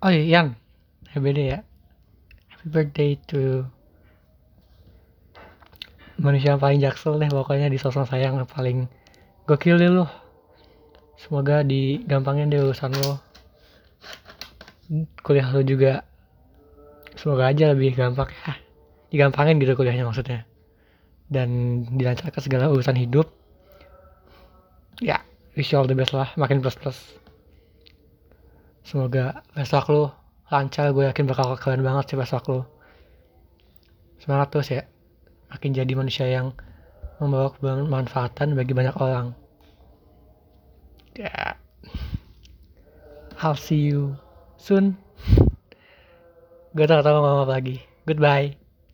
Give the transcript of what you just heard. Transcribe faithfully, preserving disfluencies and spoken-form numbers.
Oh iya, Yang. Happy birthday ya. Happy birthday to manusia yang paling jaksel deh pokoknya di sosok sayang yang paling gokil deh lo. Semoga digampangin deh urusan lo. Kuliah lo juga semoga aja lebih gampang ya. Digampangin gitu kuliahnya maksudnya. Dan dilancarkan segala urusan hidup. Ya, wish you all the best lah. Makin plus-plus. Semoga besok lo lancar. Gue yakin bakal keren banget sih besok lo. Semangat terus ya. Makin jadi manusia yang membawa kebermanfaatan bagi banyak orang. Ya, I'll see you soon. Gue tak tahu ngomong apa lagi. Goodbye.